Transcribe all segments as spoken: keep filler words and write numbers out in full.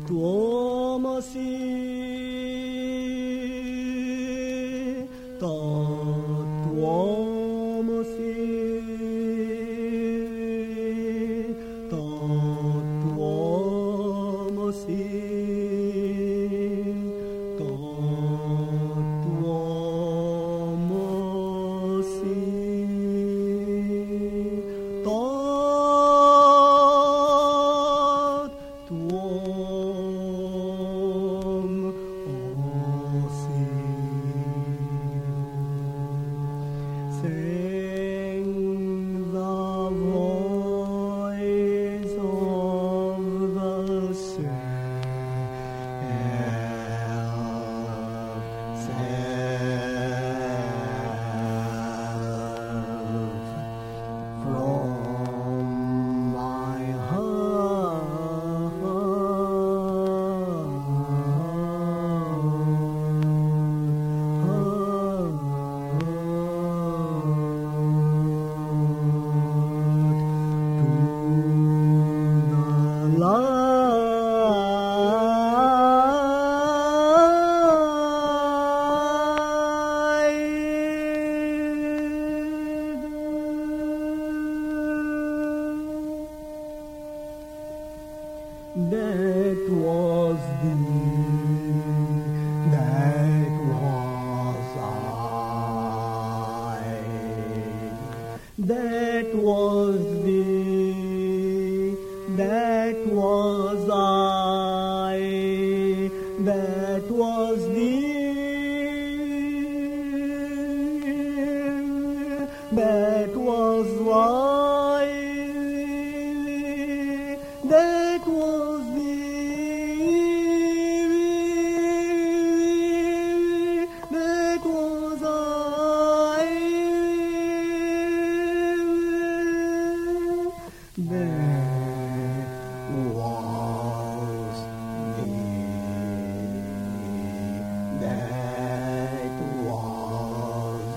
tuomo si ta tuomo si ta tuomo si ta tuomo si ta Sing the voice of the self from my That was thee, that was I. That was thee, that was I. That was thee, that was I. That was thee, that was I. That was thee, that was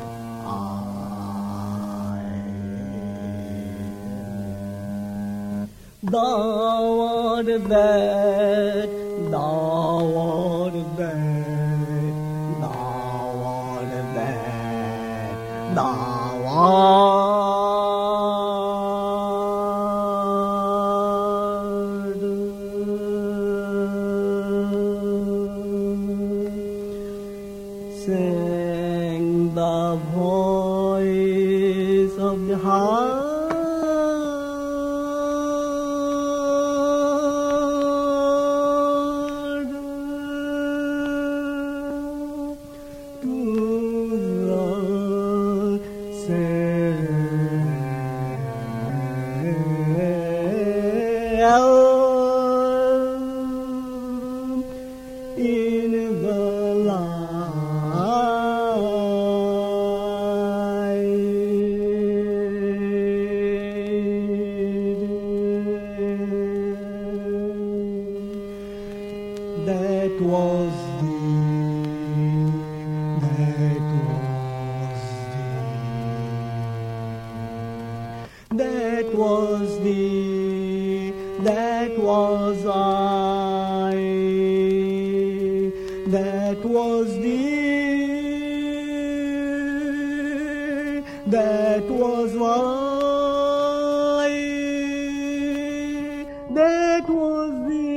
I. Thou art that, thou art that, thou art that, thou art. Sing the voice of the heart. In the light, that was thee, that was thee, that was thee, that was I. That was thee, that was I. That was thee.